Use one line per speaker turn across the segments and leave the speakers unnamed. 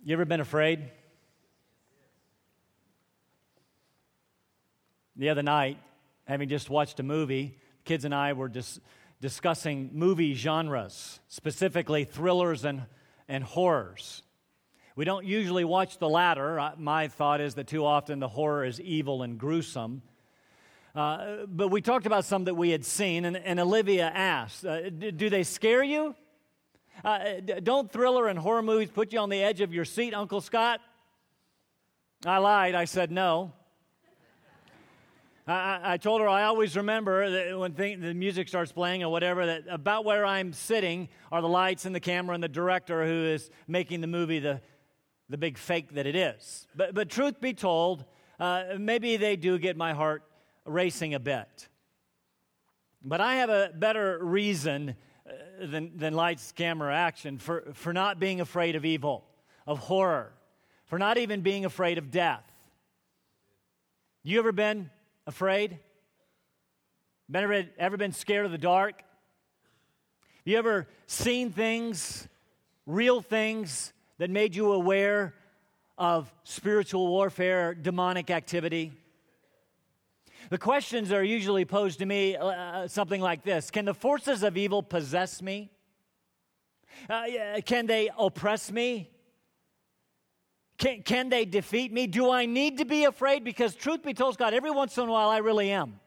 You ever been afraid? The other night, having just watched a movie, kids and I were discussing movie genres, specifically thrillers and horrors. We don't usually watch the latter. My thought is that too often the horror is evil and gruesome. But we talked about some that we had seen, and Olivia asked, do they scare you? Don't thriller and horror movies put you on the edge of your seat, Uncle Scott? I lied. I said no. I told her I always remember that when the music starts playing or whatever, that about where I'm sitting are the lights and the camera and the director who is making the movie the big fake that it is. But truth be told, maybe they do get my heart racing a bit. But I have a better reason than lights, camera, action for not being afraid of evil, of horror, for not even being afraid of death. You ever been afraid? Ever been scared of the dark? You ever seen things, real things, that made you aware of spiritual warfare, demonic activity? The questions are usually posed to me something like this. Can the forces of evil possess me? Can they oppress me? Can they defeat me? Do I need to be afraid? Because truth be told, God, every once in a while I really am.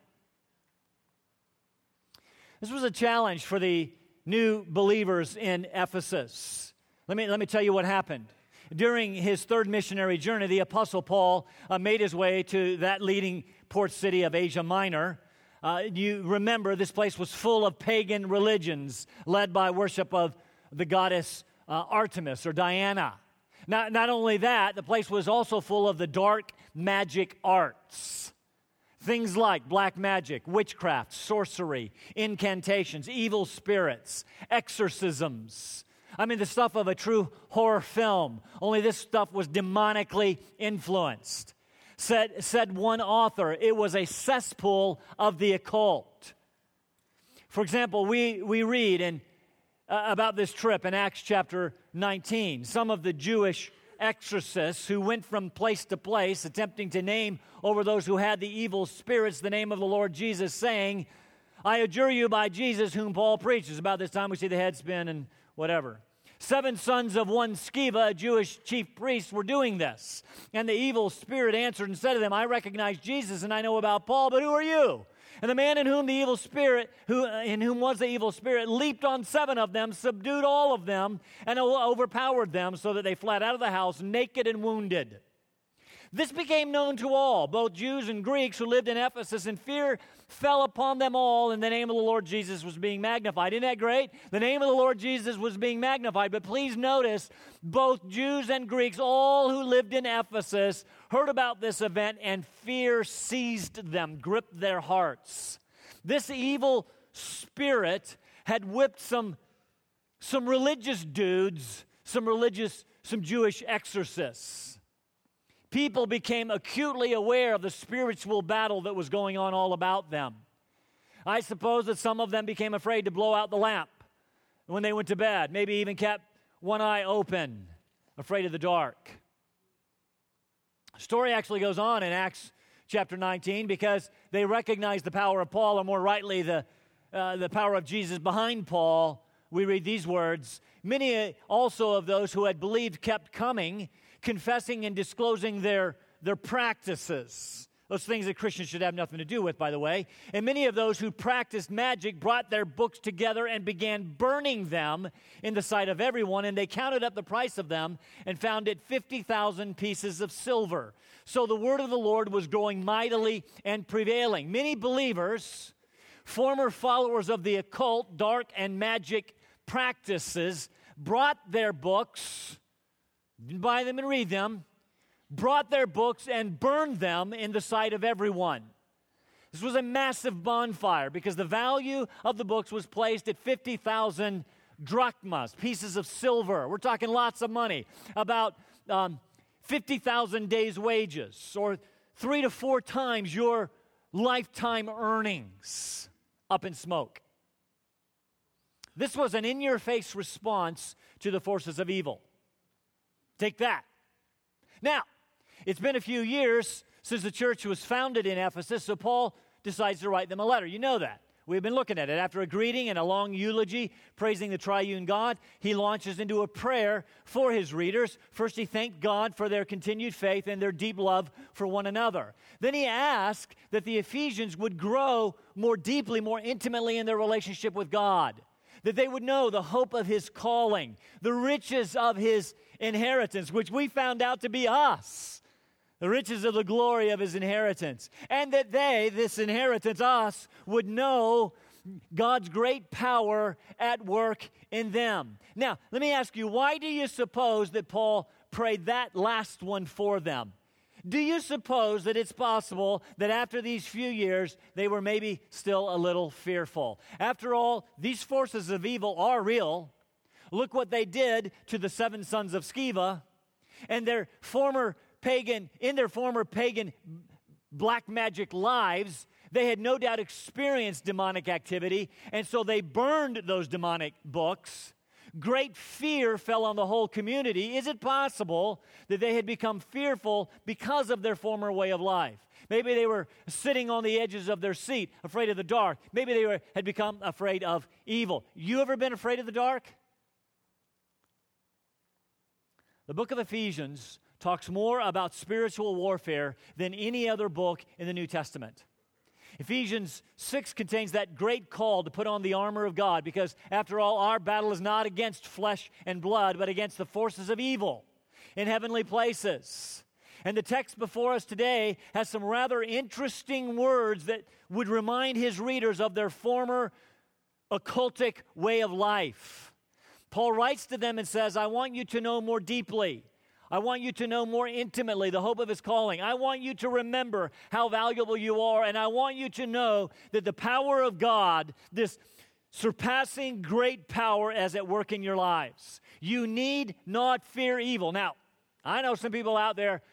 This was a challenge for the new believers in Ephesus. Let me tell you what happened. During his third missionary journey, the Apostle Paul made his way to that leading port city of Asia Minor. You remember this place was full of pagan religions led by worship of the goddess Artemis or Diana. Not only that, the place was also full of the dark magic arts. Things like black magic, witchcraft, sorcery, incantations, evil spirits, exorcisms. I mean, the stuff of a true horror film, only this stuff was demonically influenced. Said one author, it was a cesspool of the occult. For example, we read about this trip in Acts chapter 19. Some of the Jewish exorcists who went from place to place, attempting to name over those who had the evil spirits the name of the Lord Jesus, saying, I adjure you by Jesus whom Paul preaches. About this time we see the head spin and whatever. 7 sons of one Sceva, a Jewish chief priest, were doing this. And the evil spirit answered and said to them, I recognize Jesus and I know about Paul, but who are you? And the man in whom in whom was the evil spirit, leaped on 7 of them, subdued all of them, and overpowered them, so that they fled out of the house naked and wounded. This became known to all, both Jews and Greeks who lived in Ephesus, and fear fell upon them all, and the name of the Lord Jesus was being magnified. Isn't that great? The name of the Lord Jesus was being magnified. But please notice, both Jews and Greeks, all who lived in Ephesus, heard about this event, and fear seized them, gripped their hearts. This evil spirit had whipped some religious dudes, some Jewish exorcists. People became acutely aware of the spiritual battle that was going on all about them. I suppose that some of them became afraid to blow out the lamp when they went to bed, maybe even kept one eye open, afraid of the dark. The story actually goes on in Acts chapter 19 because they recognized the power of Paul, or more rightly, the power of Jesus behind Paul. We read these words, many also of those who had believed kept coming, confessing and disclosing their practices. Those things that Christians should have nothing to do with, by the way. And many of those who practiced magic brought their books together and began burning them in the sight of everyone. And they counted up the price of them and found it 50,000 pieces of silver. So the word of the Lord was growing mightily and prevailing. Many believers, former followers of the occult, dark, and magic practices, brought their books, didn't buy them and read them, brought their books and burned them in the sight of everyone. This was a massive bonfire because the value of the books was placed at 50,000 drachmas, pieces of silver. We're talking lots of money, about 50,000 days' wages, or 3 to 4 times your lifetime earnings up in smoke. This was an in-your-face response to the forces of evil. Take that. Now, it's been a few years since the church was founded in Ephesus, so Paul decides to write them a letter. You know that. We've been looking at it. After a greeting and a long eulogy praising the triune God, he launches into a prayer for his readers. First, he thanked God for their continued faith and their deep love for one another. Then he asked that the Ephesians would grow more deeply, more intimately in their relationship with God, that they would know the hope of his calling, the riches of his inheritance, which we found out to be us, the riches of the glory of his inheritance, and that they, this inheritance, us, would know God's great power at work in them. Now, let me ask you, why do you suppose that Paul prayed that last one for them? Do you suppose that it's possible that after these few years, they were maybe still a little fearful? After all, these forces of evil are real. Look what they did to the 7 sons of Sceva and their former pagan black magic lives. They had no doubt experienced demonic activity, and so they burned those demonic books. Great fear fell on the whole community. Is it possible that they had become fearful because of their former way of life? Maybe they were sitting on the edges of their seat, afraid of the dark. Maybe they had become afraid of evil. You ever been afraid of the dark? The book of Ephesians talks more about spiritual warfare than any other book in the New Testament. Ephesians 6 contains that great call to put on the armor of God because, after all, our battle is not against flesh and blood, but against the forces of evil in heavenly places. And the text before us today has some rather interesting words that would remind his readers of their former occultic way of life. Paul writes to them and says, I want you to know more deeply. I want you to know more intimately the hope of his calling. I want you to remember how valuable you are, and I want you to know that the power of God, this surpassing great power, is at work in your lives. You need not fear evil. Now, I know some people out there,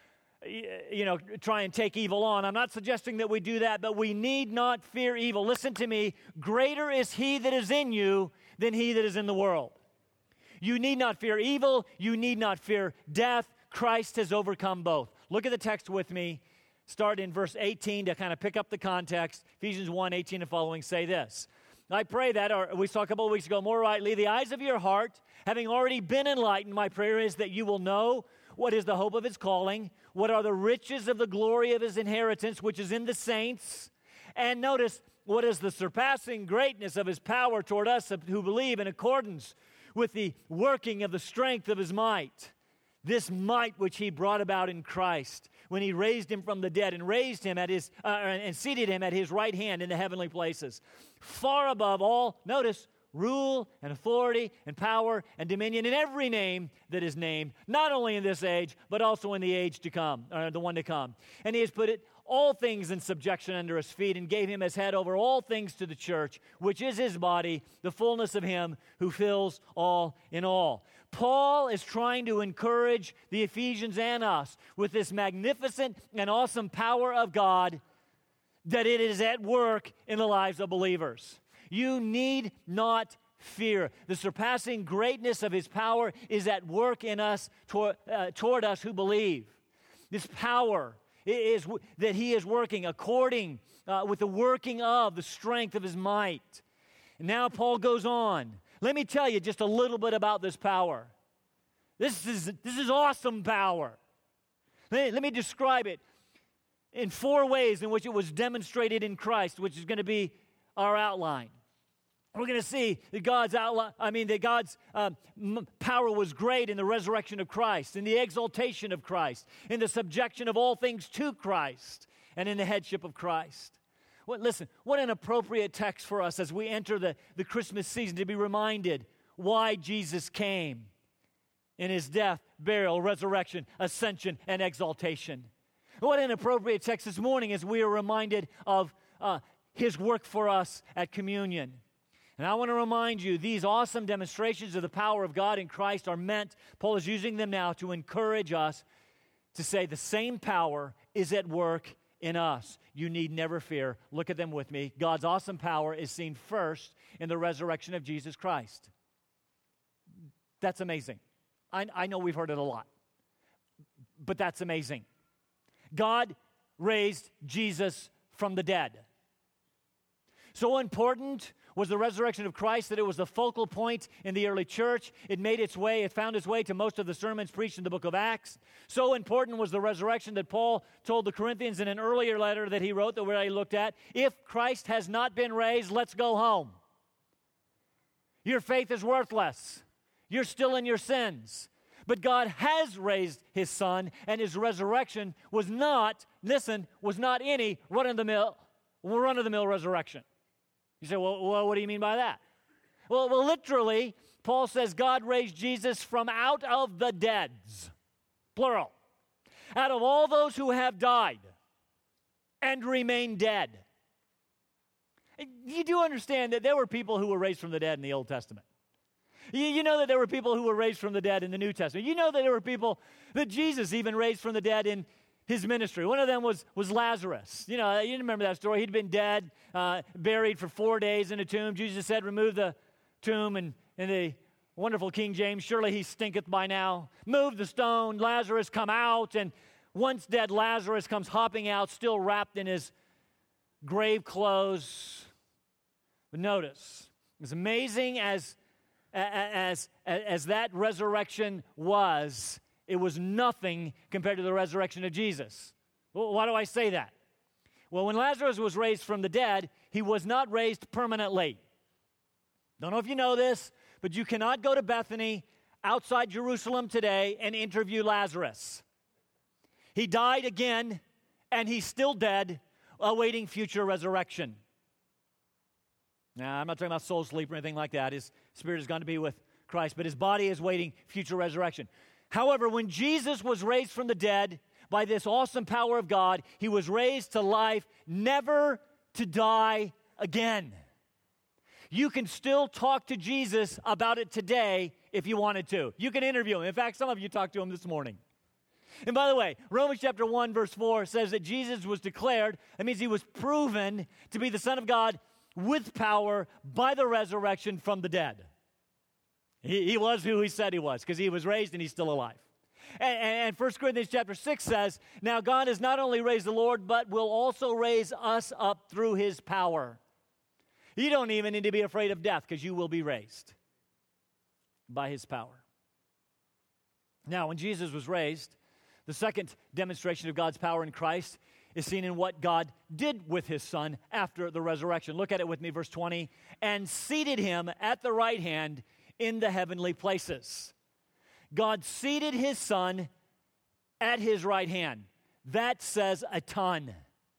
try and take evil on. I'm not suggesting that we do that, but we need not fear evil. Listen to me. Greater is he that is in you than he that is in the world. You need not fear evil. You need not fear death. Christ has overcome both. Look at the text with me. Start in verse 18 to kind of pick up the context. Ephesians 1:18 and following say this. I pray that, or we saw a couple of weeks ago, more rightly, the eyes of your heart, having already been enlightened, my prayer is that you will know what is the hope of his calling, what are the riches of the glory of his inheritance, which is in the saints, and notice what is the surpassing greatness of his power toward us who believe in accordance with the working of the strength of his might, this might which he brought about in Christ when he raised him from the dead and raised him at his and seated him at his right hand in the heavenly places, far above all, notice, rule and authority and power and dominion in every name that is named, not only in this age, but also in the age to come, or the one to come. And he has put all things in subjection under his feet and gave him as head over all things to the church, which is his body, the fullness of him who fills all in all. Paul is trying to encourage the Ephesians and us with this magnificent and awesome power of God that it is at work in the lives of believers. You need not fear. The surpassing greatness of his power is at work in us toward us who believe. This power is that he is working according with the working of the strength of his might. And now Paul goes on. Let me tell you just a little bit about this power. This is awesome power. Let me describe it in 4 ways in which it was demonstrated in Christ, which is going to be our outline. We're going to see that God's power was great in the resurrection of Christ, in the exaltation of Christ, in the subjection of all things to Christ, and in the headship of Christ. Listen, what an appropriate text for us as we enter the Christmas season to be reminded why Jesus came in his death, burial, resurrection, ascension, and exaltation. What an appropriate text this morning as we are reminded of his work for us at communion. And I want to remind you, these awesome demonstrations of the power of God in Christ are meant, Paul is using them now to encourage us to say the same power is at work in us. You need never fear. Look at them with me. God's awesome power is seen first in the resurrection of Jesus Christ. That's amazing. I know we've heard it a lot. but that's amazing. God raised Jesus from the dead. So important was the resurrection of Christ that it was the focal point in the early church. It found its way to most of the sermons preached in the book of Acts. So important was the resurrection that Paul told the Corinthians in an earlier letter that he wrote that we already looked at. If Christ has not been raised, let's go home. Your faith is worthless. You're still in your sins. But God has raised his Son, and his resurrection was not any run-of-the-mill resurrection. You say, well, what do you mean by that? Well, literally, Paul says God raised Jesus from out of the deads, plural, out of all those who have died and remain dead. You do understand that there were people who were raised from the dead in the Old Testament. You know that there were people who were raised from the dead in the New Testament. You know that there were people that Jesus even raised from the dead in his ministry. One of them was Lazarus. You remember that story. He'd been dead, buried for 4 days in a tomb. Jesus said, remove the tomb, and in the wonderful King James, surely he stinketh by now. Move the stone, Lazarus come out, and once dead Lazarus comes hopping out, still wrapped in his grave clothes. But notice, as amazing as that resurrection was, it was nothing compared to the resurrection of Jesus. Well, why do I say that? Well, when Lazarus was raised from the dead, he was not raised permanently. Don't know if you know this, but you cannot go to Bethany outside Jerusalem today and interview Lazarus. He died again, and he's still dead, awaiting future resurrection. Now, I'm not talking about soul sleep or anything like that. His spirit has gone to be with Christ, but his body is waiting future resurrection. However, when Jesus was raised from the dead by this awesome power of God, he was raised to life, never to die again. You can still talk to Jesus about it today if you wanted to. You can interview him. In fact, some of you talked to him this morning. And by the way, Romans chapter 1, verse 4 says that Jesus was declared, that means he was proven to be the Son of God with power by the resurrection from the dead. He was who he said he was, because he was raised and he's still alive. And 1 Corinthians chapter 6 says, now God has not only raised the Lord, but will also raise us up through his power. You don't even need to be afraid of death, because you will be raised by his power. Now, when Jesus was raised, the second demonstration of God's power in Christ is seen in what God did with his Son after the resurrection. Look at it with me, verse 20. And seated him at the right hand in the heavenly places. God seated his Son at his right hand. That says a ton.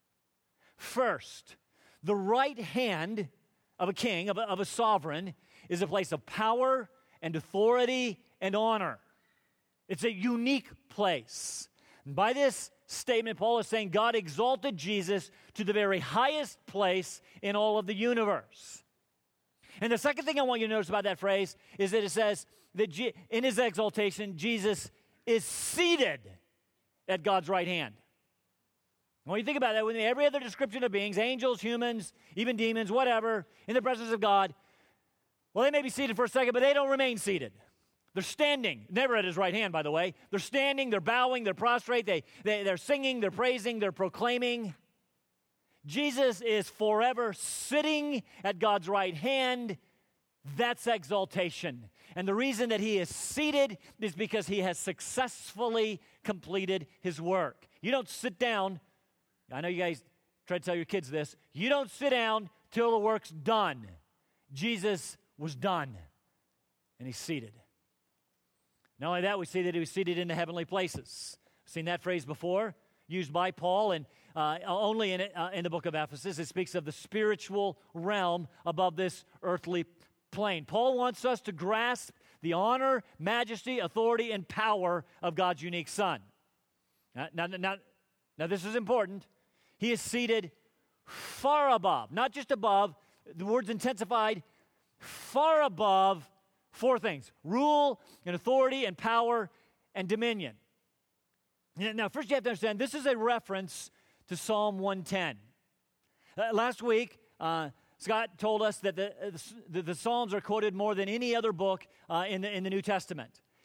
First, the right hand of a king, of a sovereign, is a place of power and authority and honor. It's a unique place. And by this statement, Paul is saying God exalted Jesus to the very highest place in all of the universe. And the second thing I want you to notice about that phrase is that it says that in his exaltation, Jesus is seated at God's right hand. When you think about that, with every other description of beings, angels, humans, even demons, whatever, in the presence of God, well, they may be seated for a second, but they don't remain seated. They're standing, never at his right hand, by the way. They're standing, they're bowing, they're prostrate, they're singing, they're praising, they're proclaiming. Jesus is forever sitting at God's right hand. That's exaltation. And the reason that he is seated is because he has successfully completed his work. You don't sit down. I know you guys try to tell your kids this. You don't sit down till the work's done. Jesus was done, and he's seated. Not only that, we see that he was seated in the heavenly places. We've seen that phrase before, used by Paul, and only in the book of Ephesus. It speaks of the spiritual realm above this earthly plane. Paul wants us to grasp the honor, majesty, authority, and power of God's unique Son. Now, this is important. He is seated far above, not just above, the word's intensified, far above four things: rule and authority and power and dominion. Now, first you have to understand, this is a reference to Psalm 110. Last week, Scott told us that the Psalms are quoted more than any other book in the New Testament.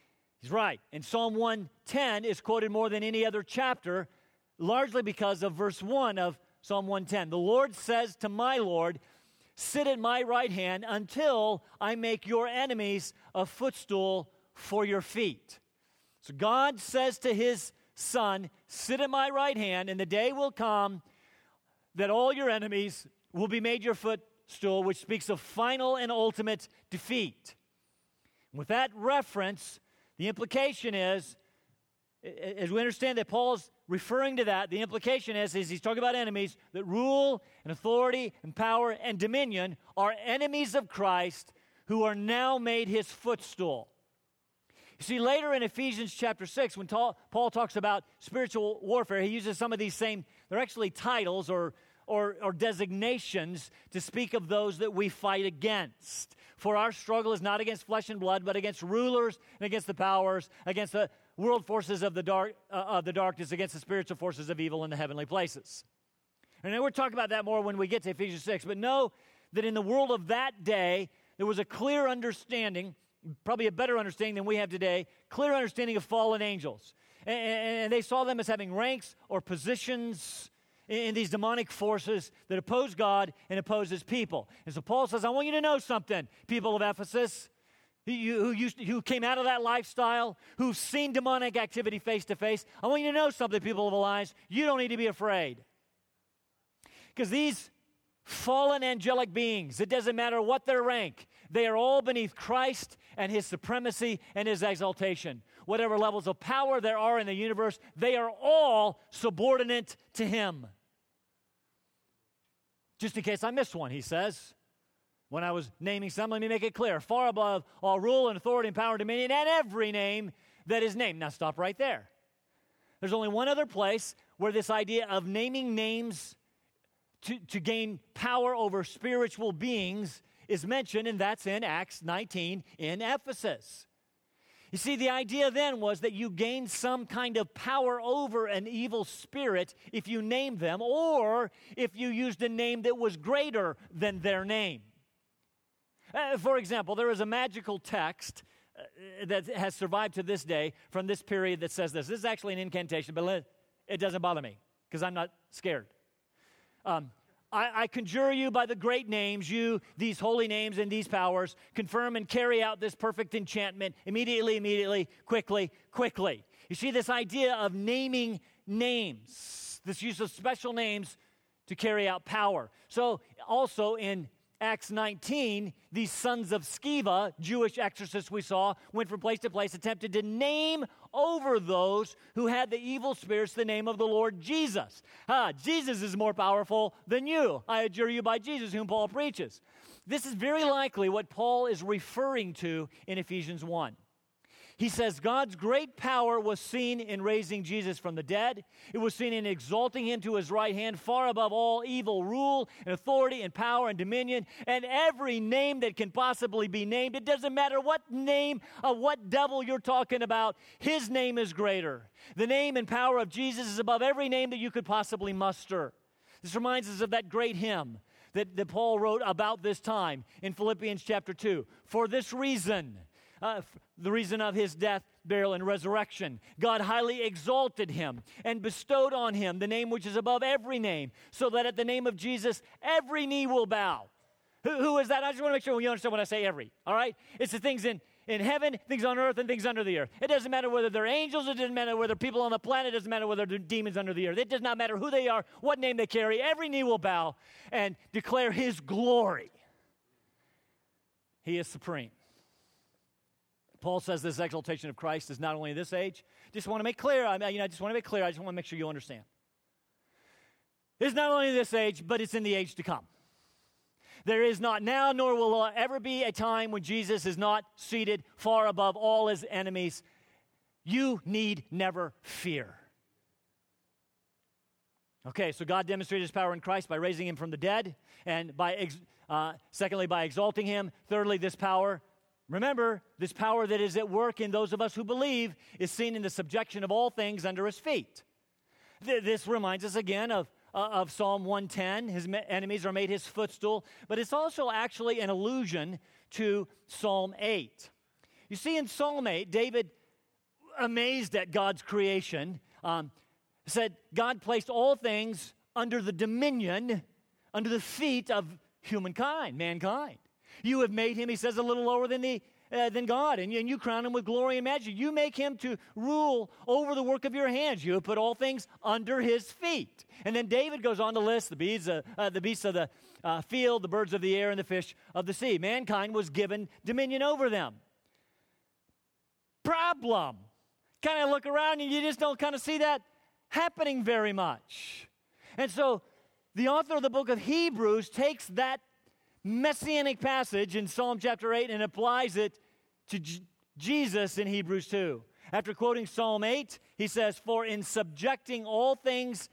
He's right. And Psalm 110 is quoted more than any other chapter, largely because of verse 1 of Psalm 110. The Lord says to my Lord, sit at my right hand until I make your enemies a footstool for your feet. So God says to his Son, sit at my right hand, and the day will come that all your enemies will be made your footstool, which speaks of final and ultimate defeat. With that reference, the implication is, as we understand that Paul's referring to that, the implication is he's talking about enemies, that rule and authority and power and dominion are enemies of Christ who are now made his footstool. You see, later in Ephesians chapter 6, when Paul talks about spiritual warfare, he uses some of these same, they're actually titles or designations to speak of those that we fight against. For our struggle is not against flesh and blood, but against rulers and against the powers, against the world forces of the darkness, against the spiritual forces of evil in the heavenly places. And then we'll talk about that more when we get to Ephesians 6. But know that in the world of that day, there was a clear understanding, probably a better understanding than we have today, clear understanding of fallen angels. And they saw them as having ranks or positions in these demonic forces that oppose God and oppose his people. And so Paul says, I want you to know something, people of Ephesus, who came out of that lifestyle, who've seen demonic activity face to face. I want you to know something, people of Alliance. You don't need to be afraid. Because these fallen angelic beings, it doesn't matter what their rank, they are all beneath Christ and his supremacy and his exaltation. Whatever levels of power there are in the universe, they are all subordinate to him. Just in case I missed one, he says, when I was naming some, let me make it clear. Far above all rule and authority and power and dominion and every name that is named. Now stop right there. There's only one other place where this idea of naming names to gain power over spiritual beings is mentioned, and that's in Acts 19 in Ephesus. You see, the idea then was that you gained some kind of power over an evil spirit if you named them, or if you used a name that was greater than their name. For example, there is a magical text that has survived to this day from this period that says this. This is actually an incantation, but it doesn't bother me because I'm not scared. I conjure you by the great names, you, these holy names and these powers, confirm and carry out this perfect enchantment immediately, quickly. You see this idea of naming names, this use of special names to carry out power. So also in Acts 19, these sons of Sceva, Jewish exorcists we saw, went from place to place, attempted to name over those who had the evil spirits the name of the Lord Jesus. Jesus is more powerful than you. I adjure you by Jesus, whom Paul preaches. This is very likely what Paul is referring to in Ephesians 1. He says God's great power was seen in raising Jesus from the dead. It was seen in exalting him to his right hand, far above all evil rule and authority and power and dominion, and every name that can possibly be named. It doesn't matter what name of what devil you're talking about, his name is greater. The name and power of Jesus is above every name that you could possibly muster. This reminds us of that great hymn that Paul wrote about this time in Philippians chapter 2. For this reason, the reason of his death, burial, and resurrection, God highly exalted him and bestowed on him the name which is above every name, so that at the name of Jesus, every knee will bow. Who is that? I just want to make sure you understand when I say every, all right? It's the things in heaven, things on earth, and things under the earth. It doesn't matter whether they're angels, it doesn't matter whether they're people on the planet, it doesn't matter whether they're demons under the earth. It does not matter who they are, what name they carry. Every knee will bow and declare his glory. He is supreme. Paul says this exaltation of Christ is not only in this age. Just want to make clear. I just want to make sure you understand. It's not only in this age, but it's in the age to come. There is not now, nor will there ever be a time when Jesus is not seated far above all his enemies. You need never fear. Okay, so God demonstrated his power in Christ by raising him from the dead, and secondly, by exalting him. Thirdly, this power. Remember, this power that is at work in those of us who believe is seen in the subjection of all things under his feet. This reminds us again of Psalm 110. His enemies are made his footstool. But it's also actually an allusion to Psalm 8. You see, in Psalm 8, David amazed at God's creation, said God placed all things under the dominion, under the feet of humankind, mankind. You have made him, he says, a little lower than God, and you crown him with glory and majesty. You make him to rule over the work of your hands. You have put all things under his feet. And then David goes on to list the beasts of the field, the birds of the air, and the fish of the sea. Mankind was given dominion over them. Problem. Kind of look around and you just don't kind of see that happening very much. And so the author of the book of Hebrews takes that messianic passage in Psalm chapter 8 and applies it to Jesus in Hebrews 2. After quoting Psalm 8, he says, "For in subjecting all things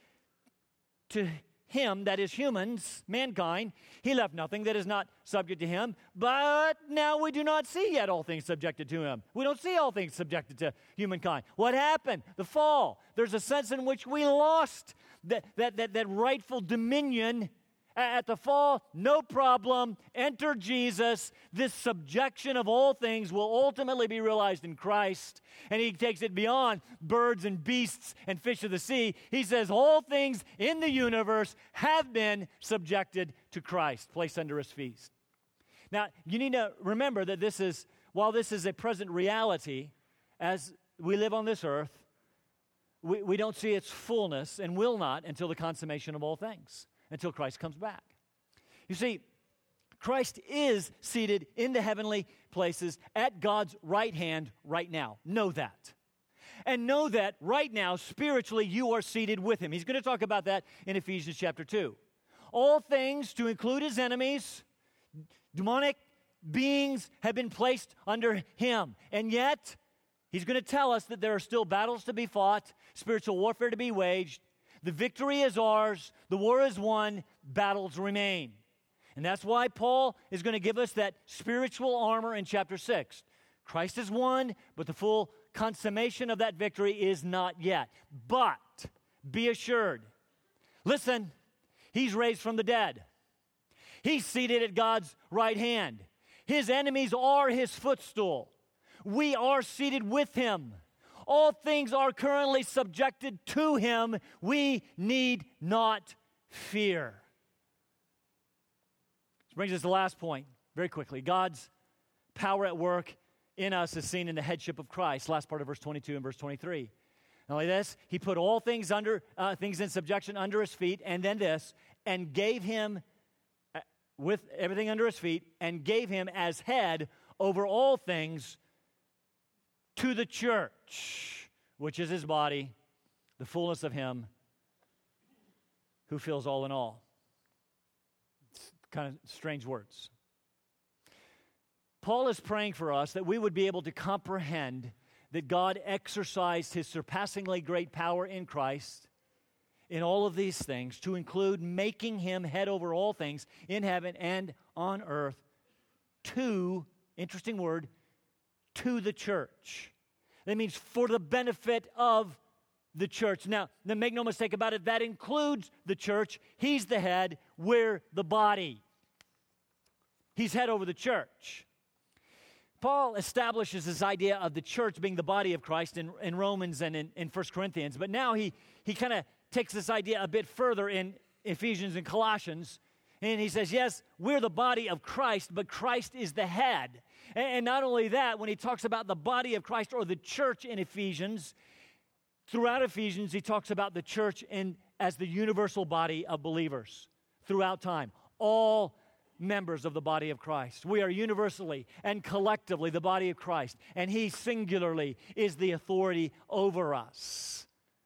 to him, that is humans, mankind, he left nothing that is not subject to him. But now we do not see yet all things subjected to him." We don't see all things subjected to humankind. What happened? The fall. There's a sense in which we lost that rightful dominion at the fall. No problem. Enter Jesus. This subjection of all things will ultimately be realized in Christ. And he takes it beyond birds and beasts and fish of the sea. He says all things in the universe have been subjected to Christ, placed under his feet. Now, you need to remember that while this is a present reality, as we live on this earth, we don't see its fullness and will not until the consummation of all things, until Christ comes back. You see, Christ is seated in the heavenly places at God's right hand right now. Know that. And know that right now, spiritually, you are seated with him. He's going to talk about that in Ephesians chapter 2. All things, to include his enemies, demonic beings, have been placed under him. And yet, he's going to tell us that there are still battles to be fought, spiritual warfare to be waged. The victory is ours. The war is won. Battles remain. And that's why Paul is going to give us that spiritual armor in chapter 6. Christ has won, but the full consummation of that victory is not yet. But be assured, listen, he's raised from the dead. He's seated at God's right hand. His enemies are his footstool. We are seated with him. All things are currently subjected to him. We need not fear. This brings us to the last point, very quickly. God's power at work in us is seen in the headship of Christ. Last part of verse 22 and verse 23. Not only this, he put all things in subjection under his feet, and then this, and gave him, with everything under his feet, and gave him as head over all things to the church, which is his body, the fullness of him who fills all in all. It's kind of strange words. Paul is praying for us that we would be able to comprehend that God exercised his surpassingly great power in Christ in all of these things, to include making him head over all things in heaven and on earth to, interesting word, to the church. That means for the benefit of the church. Now, make no mistake about it, that includes the church. He's the head, we're the body. He's head over the church. Paul establishes this idea of the church being the body of Christ in Romans and in 1 Corinthians, but now he kind of takes this idea a bit further in Ephesians and Colossians, and he says, yes, we're the body of Christ, but Christ is the head. And not only that, when he talks about the body of Christ or the church in Ephesians, throughout Ephesians, he talks about the church as the universal body of believers throughout time. All members of the body of Christ. We are universally and collectively the body of Christ, and he singularly is the authority over us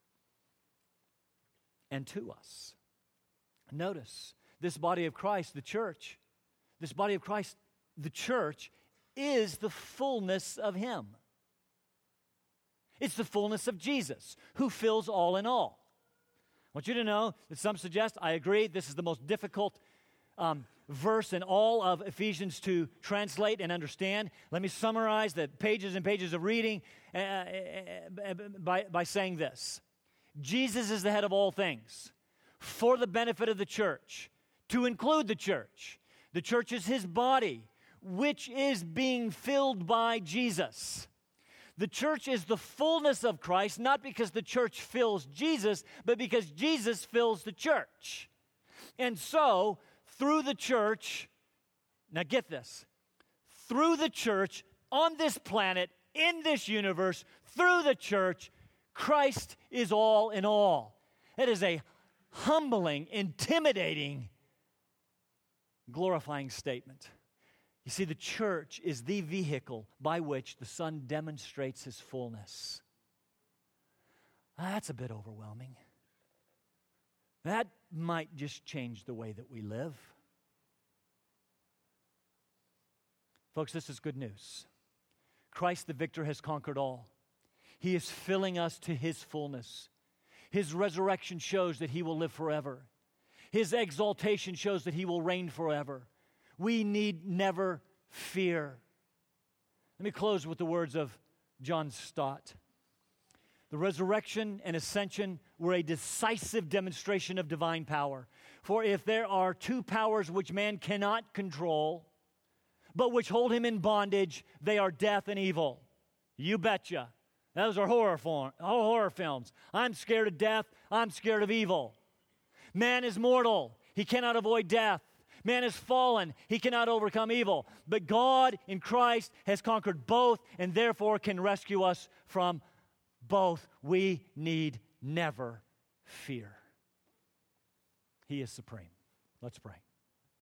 and to us. Notice, this body of Christ, the church, this body of Christ, the church, is the fullness of him. It's the fullness of Jesus, who fills all in all. I want you to know that some suggest, I agree, this is the most difficult verse in all of Ephesians to translate and understand. Let me summarize the pages and pages of reading by saying this. Jesus is the head of all things for the benefit of the church, to include the church. The church is his body, which is being filled by Jesus. The church is the fullness of Christ, not because the church fills Jesus, but because Jesus fills the church. And so, through the church, now get this, through the church, on this planet, in this universe, through the church, Christ is all in all. It is a humbling, intimidating, glorifying statement. You see, the church is the vehicle by which the Son demonstrates His fullness. That's a bit overwhelming. That might just change the way that we live. Folks, this is good news. Christ the victor has conquered all. He is filling us to His fullness. His resurrection shows that He will live forever. His exaltation shows that He will reign forever. We need never fear. Let me close with the words of John Stott. The resurrection and ascension were a decisive demonstration of divine power. For if there are two powers which man cannot control, but which hold him in bondage, they are death and evil. You betcha. Those are horror films. I'm scared of death. I'm scared of evil. Man is mortal. He cannot avoid death. Man is fallen. He cannot overcome evil. But God in Christ has conquered both and therefore can rescue us from both. We need never fear. He is supreme. Let's pray.